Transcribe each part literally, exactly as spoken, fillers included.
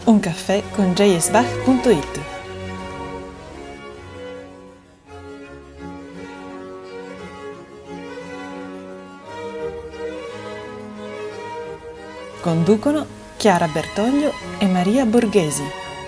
Un caffè con j s bach punto it. Conducono Chiara Bertoglio e Maria Borghesi.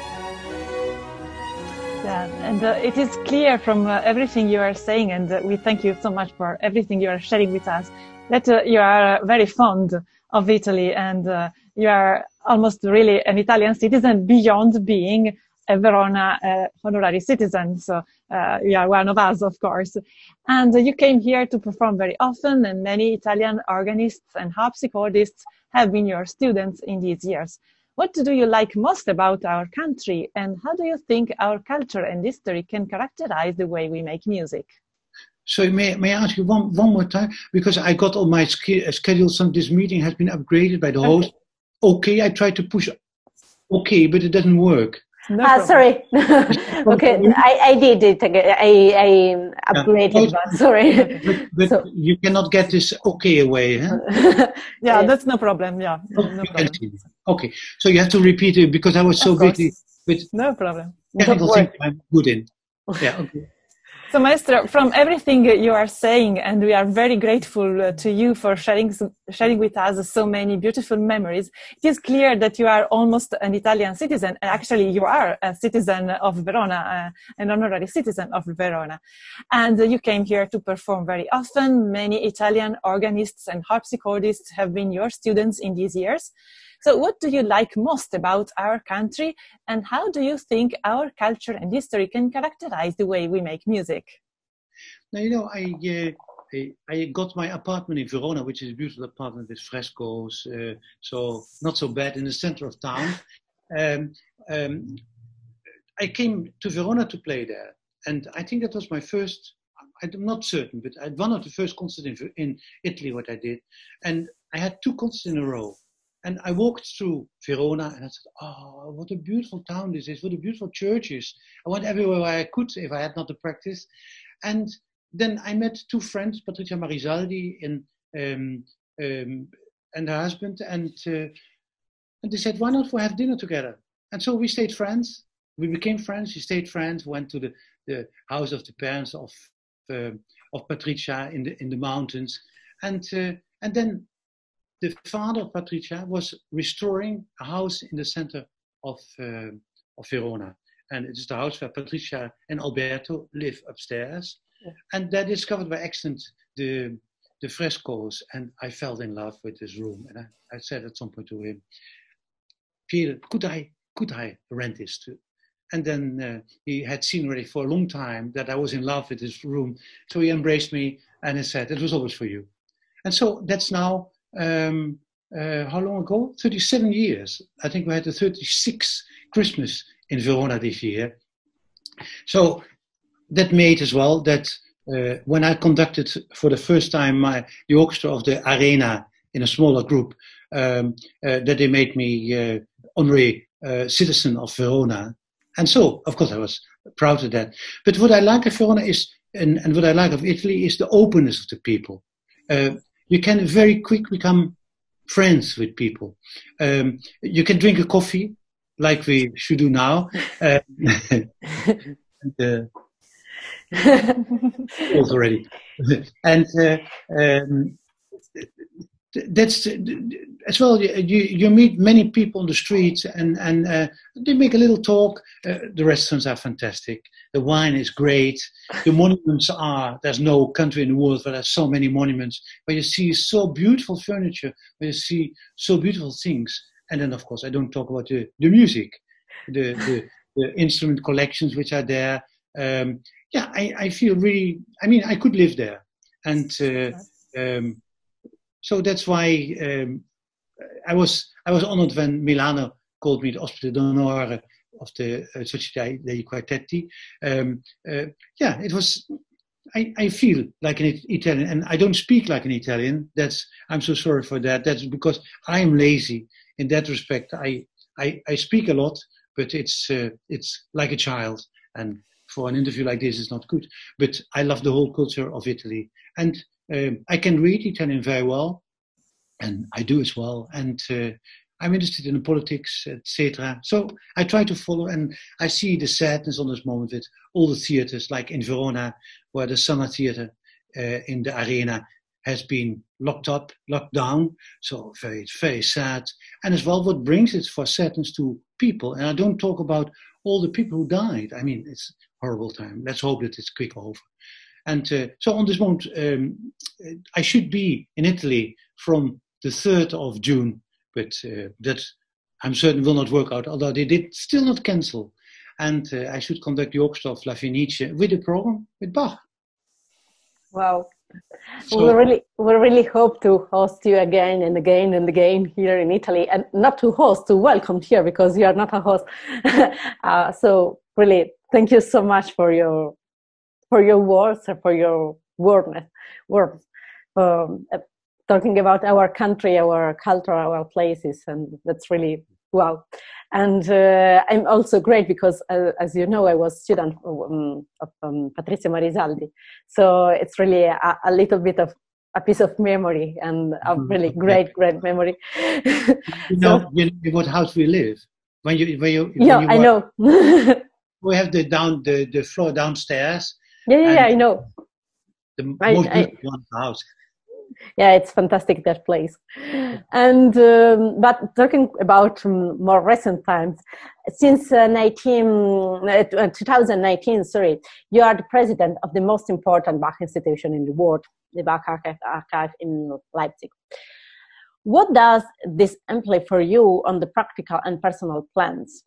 Yeah, and uh, it is clear from uh, everything you are saying, and uh, we thank you so much for everything you are sharing with us, that uh, you are uh, very fond of Italy, and uh, you are almost really an Italian citizen beyond being a Verona uh, honorary citizen. So uh, you are one of us, of course. And uh, you came here to perform very often, and many Italian organists and harpsichordists have been your students in these years. What do you like most about our country, and how do you think our culture and history can characterize the way we make music? So may, may I ask you one, one more time? Because I got on my sch- schedule, some this meeting has been upgraded by the host. Okay, I tried to push okay, but it doesn't work. No ah, sorry. Okay, I, I did it again. I, I upgraded, yeah. but sorry. But, but so. You cannot get this okay away, huh? Yeah, that's no problem. Yeah, no, no problem. Okay, so you have to repeat it because I was so busy with no problem. technical things I'm good in. Yeah, okay. So, Maestro, from everything you are saying, and we are very grateful uh, to you for sharing sharing with us so many beautiful memories, it is clear that you are almost an Italian citizen. Actually, you are a citizen of Verona, uh, an honorary citizen of Verona. And uh, you came here to perform very often. Many Italian organists and harpsichordists have been your students in these years. So what do you like most about our country, and how do you think our culture and history can characterize the way we make music? Now, you know, I, uh, I, I got my apartment in Verona, which is a beautiful apartment with frescoes, uh, so not so bad in the center of town. Um, um, I came to Verona to play there, and I think that was my first, I'm not certain, but I had one of the first concerts in, in Italy, what I did, and I had two concerts in a row. And I walked through Verona and I said, oh, what a beautiful town this is, what a beautiful churches. I went everywhere I could if I had not the practice. And then I met two friends, Patricia Marisaldi and, um, um, and her husband, and, uh, and they said, why not we have dinner together? And so we stayed friends. We became friends, we stayed friends, went to the, the house of the parents of, uh, of Patricia in the, in the mountains. And, uh, and then the father of Patricia was restoring a house in the center of, uh, of Verona. And it is the house where Patricia and Alberto live upstairs. Yeah. And they discovered by accident the, the frescoes. And I fell in love with this room. And I, I said at some point to him, Peter, could I, could I rent this too? And then uh, he had seen already for a long time that I was in love with this room. So he embraced me and he said, it was always for you. And so that's now, Um, uh, how long ago? thirty-seven years. I think we had the thirty-sixth Christmas in Verona this year. So that made as well that uh, when I conducted for the first time my, the orchestra of the Arena in a smaller group, um, uh, that they made me uh, honorary uh, citizen of Verona. And so, of course, I was proud of that. But what I like of Verona is, and, and what I like of Italy is the openness of the people. Uh, You can very quick become friends with people. Um, you can drink a coffee like we should do now. Uh, and, uh, already. And uh, um, that's as well. You you meet many people on the streets, and and uh, they make a little talk. Uh, the restaurants are fantastic. The wine is great. The monuments are. There's no country in the world where there's so many monuments. Where you see so beautiful furniture. Where you see so beautiful things. And then of course I don't talk about the the music, the the, the instrument collections which are there. Um, yeah, I I feel really. I mean, I could live there, and. Uh, um, So that's why um, I was I was honored when Milano called me the ospite d'onore of the uh, Società dei Quartetti. Um, uh, yeah, it was. I, I feel like an Italian, and I don't speak like an Italian. That's I'm so sorry for that. That's because I am lazy in that respect. I I, I speak a lot, but it's uh, it's like a child, and for an interview like this, it's not good. But I love the whole culture of Italy, and. Um, I can read Italian very well, and I do as well. And uh, I'm interested in the politics, et cetera. So I try to follow, and I see the sadness on this moment with all the theaters, like in Verona, where the Summer Theater uh, in the arena has been locked up, locked down. So very, very sad. And as well, what brings it for sadness to people? And I don't talk about all the people who died. I mean, it's a horrible time. Let's hope that it's quick over. And uh, so on this moment, um, I should be in Italy from the third of June, but uh, that I'm certain will not work out, although they did still not cancel. And uh, I should conduct the Orchestra of La Fenice with a program with Bach. Wow. So, we really, we really hope to host you again and again and again here in Italy, and not to host, to welcome here, because you are not a host. uh, so really, thank you so much for your for your words and for your wordness, words, um, uh, talking about our country, our culture, our places, and that's really wow. And uh, I'm also great because, uh, as you know, I was student um, of um, Patrizio Marisaldi, so it's really a, a little bit of a piece of memory and a really great, great memory. You know, so, you know what house we live when you when you when yeah, you I know. We have the down the, the floor downstairs. Yeah, yeah, yeah, I know. The I, most I, beautiful one house. Yeah, it's fantastic, that place. And um, but talking about um, more recent times, since uh, nineteen, uh, twenty nineteen, sorry, you are the president of the most important Bach institution in the world, the Bach Archive, Archive in Leipzig. What does this imply for you on the practical and personal plans?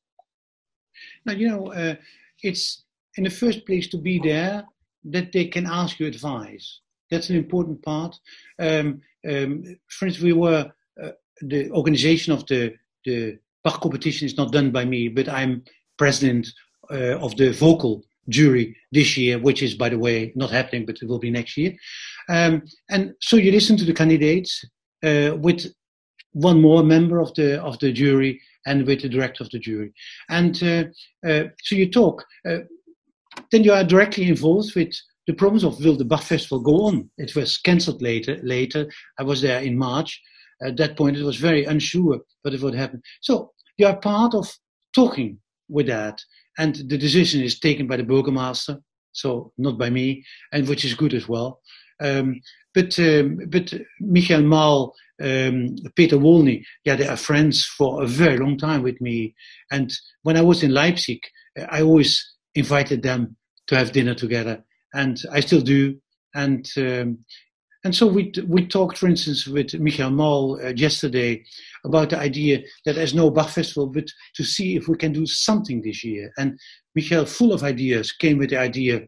Now, you know, uh, it's in the first place to be there, that they can ask you advice. That's an important part. Um, um, for instance, we were, uh, the organization of the, the Bach competition is not done by me, but I'm president uh, of the vocal jury this year, which is, by the way, not happening, but it will be next year. Um, and so you listen to the candidates uh, with one more member of the of the jury and with the director of the jury. And uh, uh, so you talk. Uh, then you are directly involved with the problems of will the Bach Festival go on. It was cancelled later. Later, I was there in March. At that point, it was very unsure what it would happen. So you are part of talking with that, and the decision is taken by the burgomaster, so not by me, and which is good as well. Um, but um, but Michael Maal, um, Peter Wolny, yeah, they are friends for a very long time with me. And when I was in Leipzig, I always invited them to have dinner together, and I still do. And um, and so we we talked, for instance, with Michael Maal uh, yesterday about the idea that there's no Bach Festival, but to see if we can do something this year. And Michael, full of ideas, came with the idea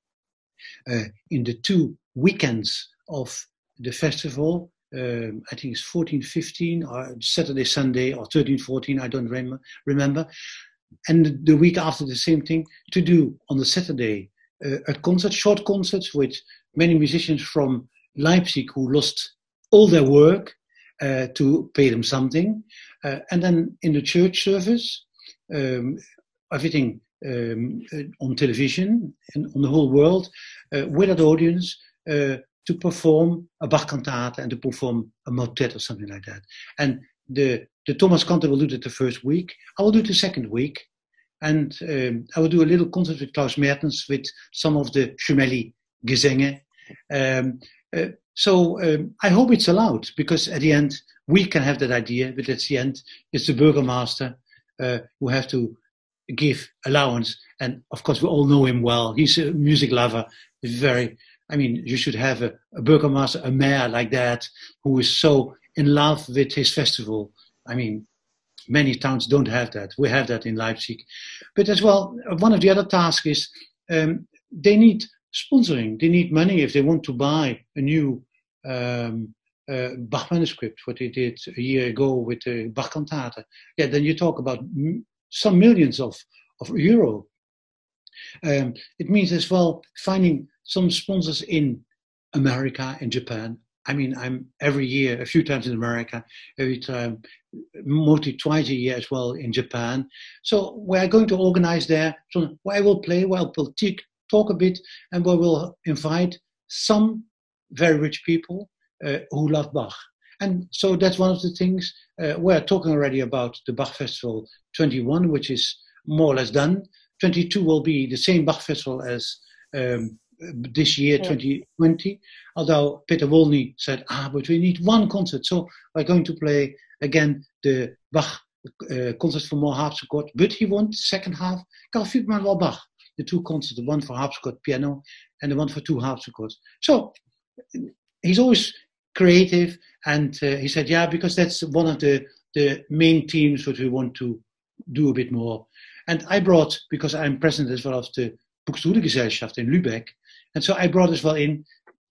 uh, in the two weekends of the festival. Um, I think it's fourteen, fifteen, or Saturday, Sunday, or thirteen, fourteen. I don't rem- remember. And the week after, the same thing, to do on the Saturday uh, a concert, short concerts with many musicians from Leipzig who lost all their work uh, to pay them something. Uh, and then in the church service, um, everything um, on television and on the whole world, uh, with an audience, uh, to perform a Bach cantata and to perform a motet or something like that. And the The Thomas Kantor will do it the first week. I will do it the second week. And um, I will do a little concert with Klaus Mertens with some of the Schmelly Gesänge. Um, uh, so um, I hope it's allowed, because at the end, we can have that idea, but at the end, it's the burgomaster uh, who have to give allowance. And of course, we all know him well. He's a music lover. He's very, I mean, you should have a, a burgomaster, a mayor like that, who is so in love with his festival. I mean, many towns don't have that. We have that in Leipzig. But as well, one of the other tasks is um, they need sponsoring. They need money if they want to buy a new um, uh, Bach manuscript, what they did a year ago with the Bach cantata. Yeah, then you talk about m- some millions of, of euro. Um, it means as well finding some sponsors in America, in Japan. I mean, I'm every year, a few times in America, every time, mostly twice a year as well in Japan. So we're going to organize there, so where I will play, where I will t- talk a bit, and where we'll invite some very rich people uh, who love Bach. and so that's one of the things. Uh, we're talking already about the Bach Festival twenty-one, which is more or less done. twenty-two will be the same Bach Festival as um, this year, yeah. twenty twenty. Although Peter Wolny said, ah, but we need one concert. So we're going to play again the Bach uh, concert for more harpsichord. But he wants the second half, Carl Friedman wel Bach. The two concerts, the one for harpsichord piano and the one for two harpsichords. So he's always creative, and uh, he said, yeah, because that's one of the, the main themes that we want to do a bit more. And I brought, because I'm president as well of the Buxtehude Gesellschaft in Lübeck, and so I brought as well in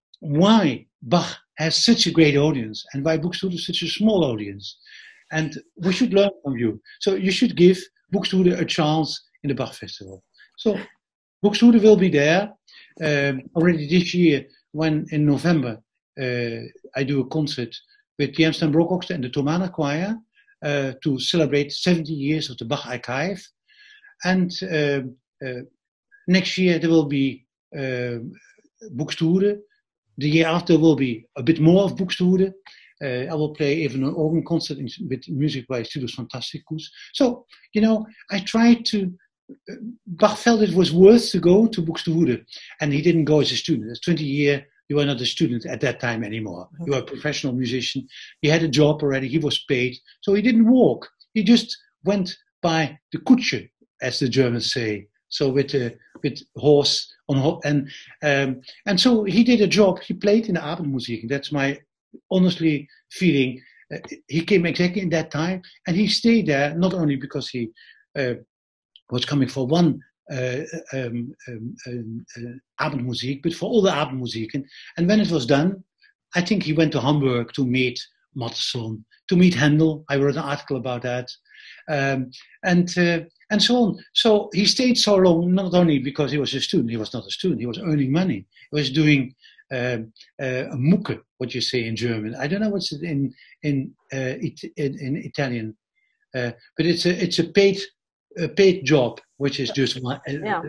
why Bach has such a great audience and why Buxtehude is such a small audience. And we should learn from you. So you should give Buxtehude a chance in the Bach Festival. So Buxtehude will be there um, already this year when in November uh, I do a concert with the Amsterdam Baroque Orchestra and the Thomaner Choir uh, to celebrate seventy years of the Bach Archive. And uh, uh, next year there will be uh, Buxtehude. The year after will be a bit more of Buxtehude. Uh, I will play even an organ concert in, with music by Studios Fantasticus. So, you know, I tried to Bach felt it was worth to go to Buxtehude, and he didn't go as a student. As twenty year, you were not a student at that time anymore. Mm-hmm. You were a professional musician. He had a job already. He was paid, so he didn't walk. He just went by the Kutsche, as the Germans say. So with a with horse on ho- and um, and so he did a job. He played in the Abendmusik. That's my honestly feeling. Uh, he came exactly in that time, and he stayed there not only because he. Uh, was coming for one uh, um, um, um, uh, Abendmusik, but for all the Abendmusiken. And when it was done, I think he went to Hamburg to meet Mattheson, to meet Handel. I wrote an article about that. Um, and uh, and so on. So he stayed so long, not only because he was a student, he was not a student, he was earning money. He was doing um, uh, a mucke, what you say in German. I don't know what's it in, in, uh, it, in, in Italian, uh, but it's a, it's a paid a paid job, which is just one. Yeah.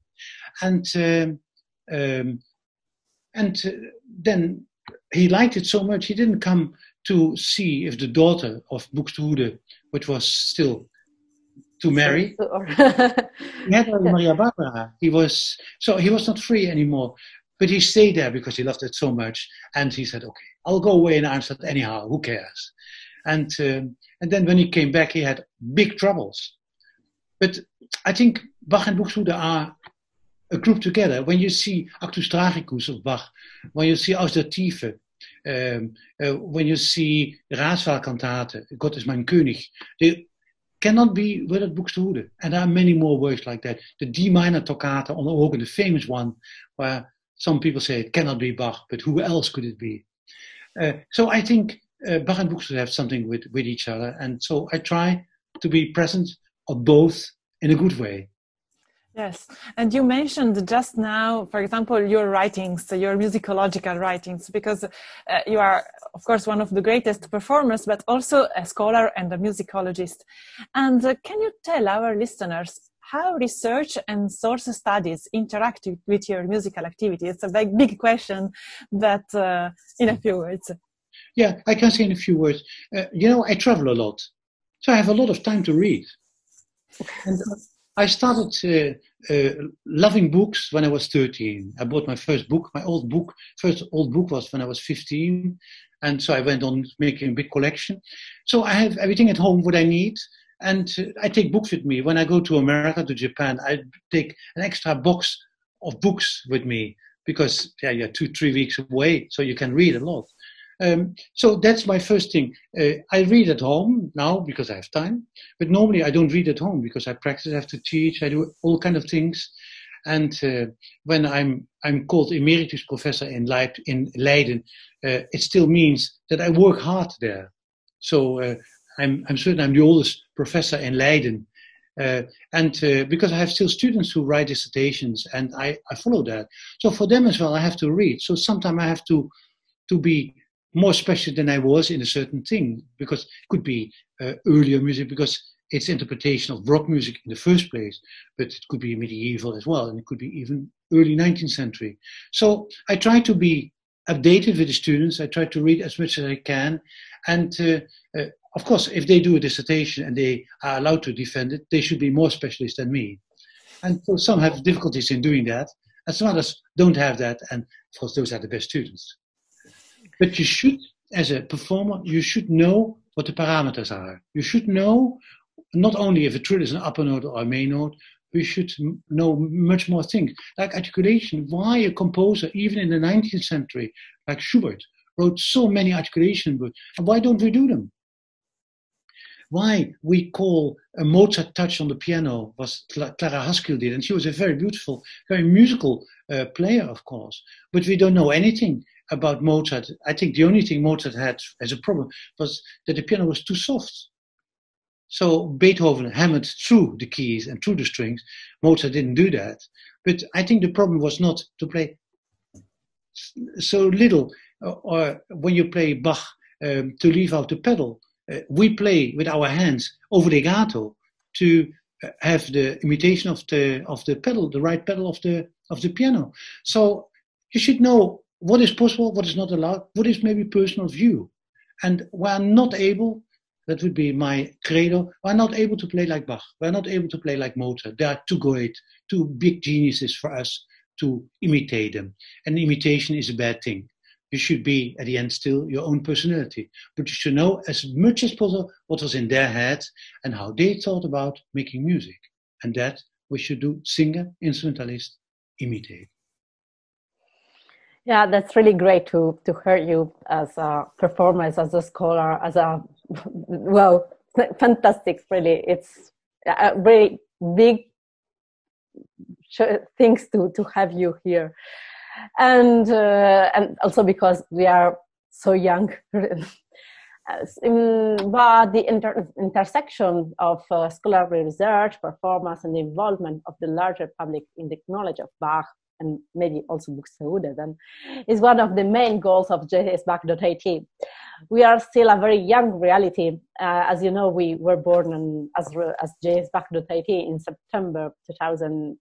And um, um, and uh, then he liked it so much, he didn't come to see if the daughter of Buxtehude, which was still to marry, he had Maria Barbara. He was so he was not free anymore, but he stayed there because he loved it so much. And he said, "Okay, I'll go away in Arnstadt anyhow. Who cares?" And um, and then when he came back, he had big troubles. But I think Bach and Buxtehude are a group together. When you see Actus Tragicus of Bach, when you see Aus der Tiefe, um, uh, when you see Ratswahlkantate, Gott ist mein König, they cannot be without Buxtehude. And there are many more works like that. The D minor toccata on the organ, the famous one, where some people say it cannot be Bach, but who else could it be? Uh, so I think uh, Bach and Buxtehude have something with, with each other. And so I try to be present of both in a good way. Yes, and you mentioned just now, for example, your writings, your musicological writings, because uh, you are, of course, one of the greatest performers, but also a scholar and a musicologist. And uh, can you tell our listeners how research and source studies interact with your musical activity? It's a big, big question, but uh, in a few words. Yeah, I can say in a few words. Uh, you know, I travel a lot, so I have a lot of time to read. And I started uh, uh, loving books when I was thirteen. I bought my first book. My old book, first old book was when I was fifteen. And so I went on making a big collection. So I have everything at home, what I need. And uh, I take books with me. When I go to America, to Japan, I take an extra box of books with me because yeah, you're two, three weeks away, so you can read a lot. Um, so that's my first thing. Uh, I read at home now because I have time, but normally I don't read at home because I practice, I have to teach, I do all kind of things. And uh, when I'm I'm called emeritus professor in, Leip, in Leiden, uh, it still means that I work hard there. So uh, I'm I'm certain I'm the oldest professor in Leiden. Uh, and uh, because I have still students who write dissertations, and I, I follow that. So for them as well, I have to read. So sometimes I have to to be more special than I was in a certain thing, because it could be uh, earlier music, because it's interpretation of rock music in the first place, but it could be medieval as well, and it could be even early nineteenth century. So I try to be updated with the students. I try to read as much as I can, And uh, uh, of course, if they do a dissertation and they are allowed to defend it, they should be more specialist than me. And so some have difficulties in doing that, and some others don't have that, and of course those are the best students. But you should, as a performer, you should know what the parameters are. You should know not only if a trill is an upper note or a main note, we should know much more things, like articulation. Why a composer, even in the nineteenth century, like Schubert, wrote so many articulation books, and why don't we do them? Why we call a Mozart touch on the piano was Clara Haskell did, and she was a very beautiful, very musical uh, player, of course, but we don't know anything about Mozart. I think the only thing Mozart had as a problem was that the piano was too soft. So Beethoven hammered through the keys and through the strings. Mozart didn't do that. But I think the problem was not to play so little, or when you play Bach, um, to leave out the pedal. Uh, we play with our hands over legato to have the imitation of the of the pedal, the right pedal of the of the piano. So you should know what is possible, what is not allowed, what is maybe personal view. And we're not able, that would be my credo, we're not able to play like Bach. We're not able to play like Mozart. They are too great, too big geniuses for us to imitate them. And imitation is a bad thing. You should be, at the end, still your own personality. But you should know as much as possible what was in their head and how they thought about making music. And that we should do, singer, instrumentalist, imitate. Yeah, that's really great to, to hear you as a performer, as a scholar, as a, well, fantastic, really. It's a very big things to, to have you here. And uh, and also because we are so young. But the inter intersection of uh, scholarly research, performance, and the involvement of the larger public in the knowledge of Bach, and maybe also Buxtehude, then, is one of the main goals of J S Bach dot I T. We are still a very young reality. Uh, as you know, we were born in, as, as J S Bach dot I T in September two thousand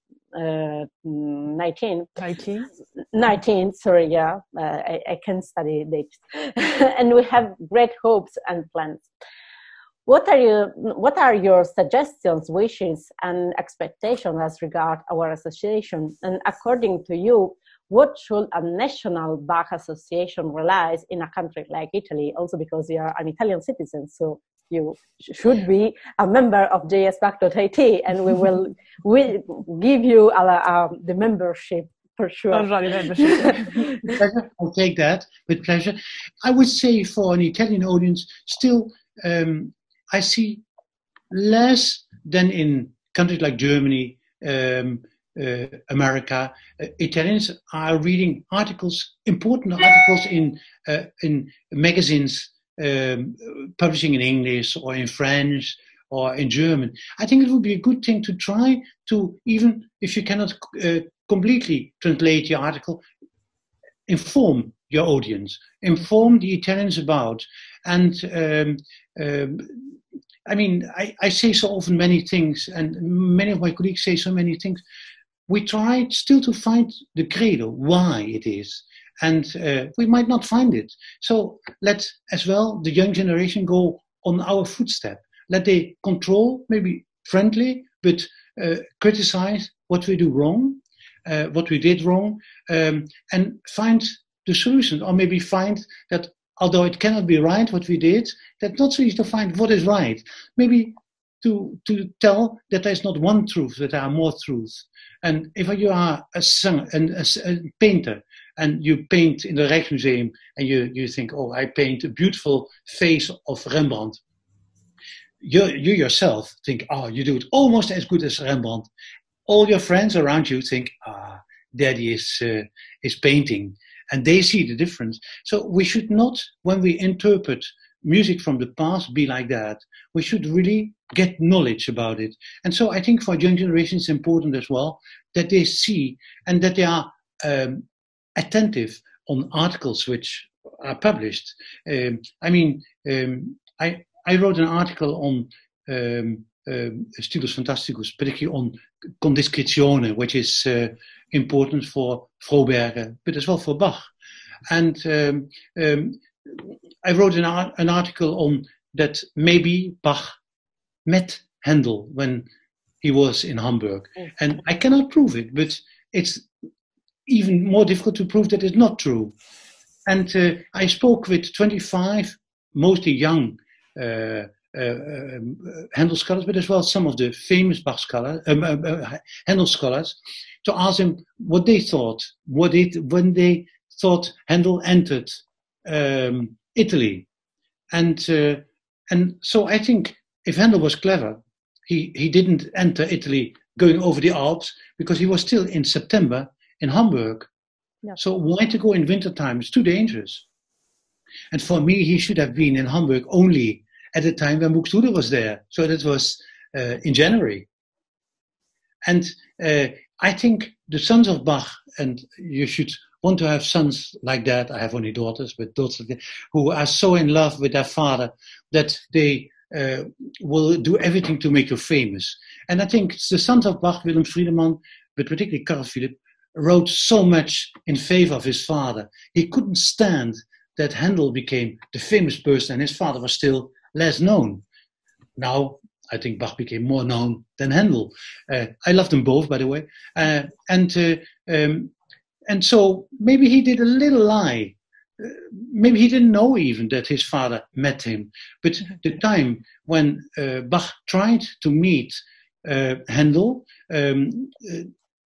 nineteen. nineteen? nineteen, sorry, yeah. Uh, I, I can study dates. And we have great hopes and plans. What are you? What are your suggestions, wishes, and expectations as regard our association? And according to you, what should a national Bach association realize in a country like Italy? Also because you are an Italian citizen, so you should be a member of J S Bach dot I T, and we will we give you a, a, the membership for sure. Oh, sorry, membership. I'll take that with pleasure. I would say for an Italian audience, still. Um, I see less than in countries like Germany, um, uh, America. Uh, Italians are reading articles, important articles in uh, in magazines, um, publishing in English or in French or in German. I think it would be a good thing to try to, even if you cannot uh, completely translate your article, inform your audience, inform the Italians about, and um, um, I mean, I, I say so often many things, and many of my colleagues say so many things. We try still to find the credo, why it is, and uh, we might not find it. So let as well the young generation go on our footstep. Let they control, maybe friendly, but uh, criticize what we do wrong, uh, what we did wrong, um, and find the solution, or maybe find that although it cannot be right what we did, that's not so easy to find what is right. Maybe to to tell that there's not one truth, that there are more truths. And if you are a singer and a, a painter, and you paint in the Rijksmuseum, and you, you think, oh, I paint a beautiful face of Rembrandt, you, you yourself think, oh, you do it almost as good as Rembrandt. All your friends around you think, ah, Daddy is uh, is painting. And they see the difference. So we should not, when we interpret music from the past, be like that. We should really get knowledge about it. And so I think for young generation, it's important as well that they see and that they are um, attentive on articles which are published. Um, I mean, um, I, I wrote an article on um, um, Stilus Fantasticus, particularly on condiscrizione, which is uh, important for Froberger, but as well for Bach. And um, um, I wrote an, art, an article on that maybe Bach met Handel when he was in Hamburg. And I cannot prove it, but it's even more difficult to prove that it's not true. And uh, I spoke with twenty-five, mostly young uh, uh, um, Handel scholars, but as well some of the famous Bach scholars, um, uh, uh, Handel scholars, to ask them what they thought, what it, when they thought Handel entered um, Italy. And uh, and so I think if Handel was clever, he, he didn't enter Italy going over the Alps because he was still in September in Hamburg. Yeah. So why to go in wintertime? It's too dangerous. And for me, he should have been in Hamburg only at the time when Buxtehude was there. So that was uh, in January. And uh, I think the sons of Bach, and you should want to have sons like that. I have only daughters, but daughters who are so in love with their father that they uh, will do everything to make you famous. And I think the sons of Bach, Willem Friedemann, but particularly Carl Philipp, wrote so much in favor of his father. He couldn't stand that Handel became the famous person and his father was still less known. Now, I think Bach became more known than Handel. Uh, I love them both, by the way. Uh, and uh, um, and so maybe he did a little lie. Uh, maybe he didn't know even that his father met him. But the time when uh, Bach tried to meet uh, Handel, um, uh,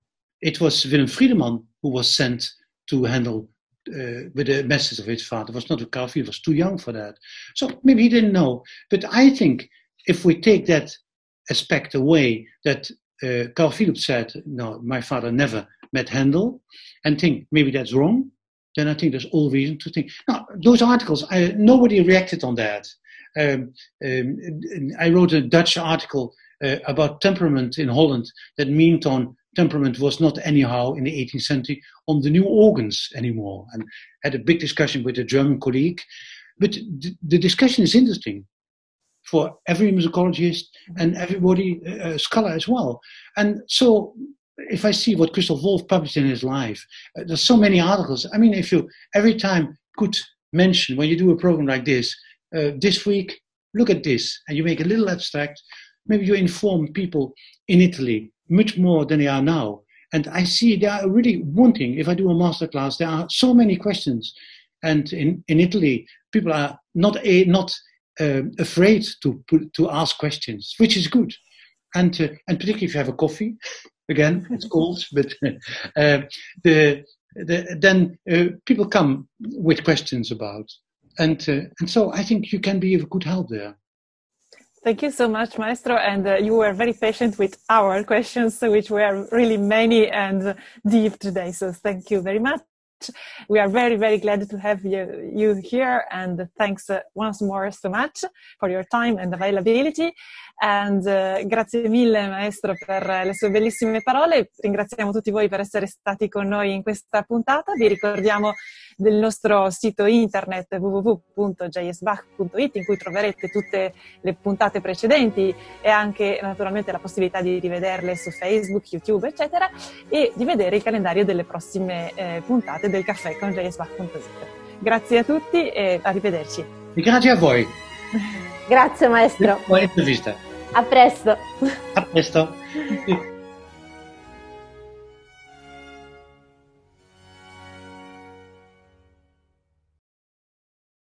it was Willem Friedemann who was sent to Handel uh, with a message of his father. It was not a Carl Philipp, he was too young for that. So maybe he didn't know. But I think if we take that aspect away, that uh, Carl Philipp said, no, my father never met Handel, and think maybe that's wrong, then I think there's all reason to think. Now, those articles, I, nobody reacted on that. Um, um, I wrote a Dutch article uh, about temperament in Holland that meant on temperament was not anyhow in the eighteenth century on the new organs anymore, and had a big discussion with a German colleague. But th- the discussion is interesting for every musicologist and everybody, uh, scholar as well. And so if I see what Christoph Wolff published in his life, uh, there's so many articles. I mean, if you every time could mention, when you do a program like this, uh, this week, look at this, and you make a little abstract, maybe you inform people in Italy much more than they are now. And I see they are really wanting, if I do a masterclass, there are so many questions. And in, in Italy, people are not a, not uh, afraid to to ask questions, which is good. And uh, and particularly if you have a coffee, again, it's cold, but uh, the, the then uh, people come with questions about. And uh, and so I think you can be of good help there. Thank you so much, Maestro. And uh, you were very patient with our questions, which were really many and deep today. So thank you very much. We are very, very glad to have you, you here. And thanks uh, once more so much for your time and availability. And uh, grazie mille, Maestro, per le sue bellissime parole. Ringraziamo tutti voi per essere stati con noi in questa puntata. Vi ricordiamo del nostro sito internet w w w punto j s bach punto i t, in cui troverete tutte le puntate precedenti e anche naturalmente la possibilità di rivederle su Facebook, YouTube, eccetera, e di vedere il calendario delle prossime eh, puntate del caffè con j s bach punto i t. Grazie a tutti e arrivederci. Grazie a voi. Grazie, Maestro. Buona intervista. A presto. A presto.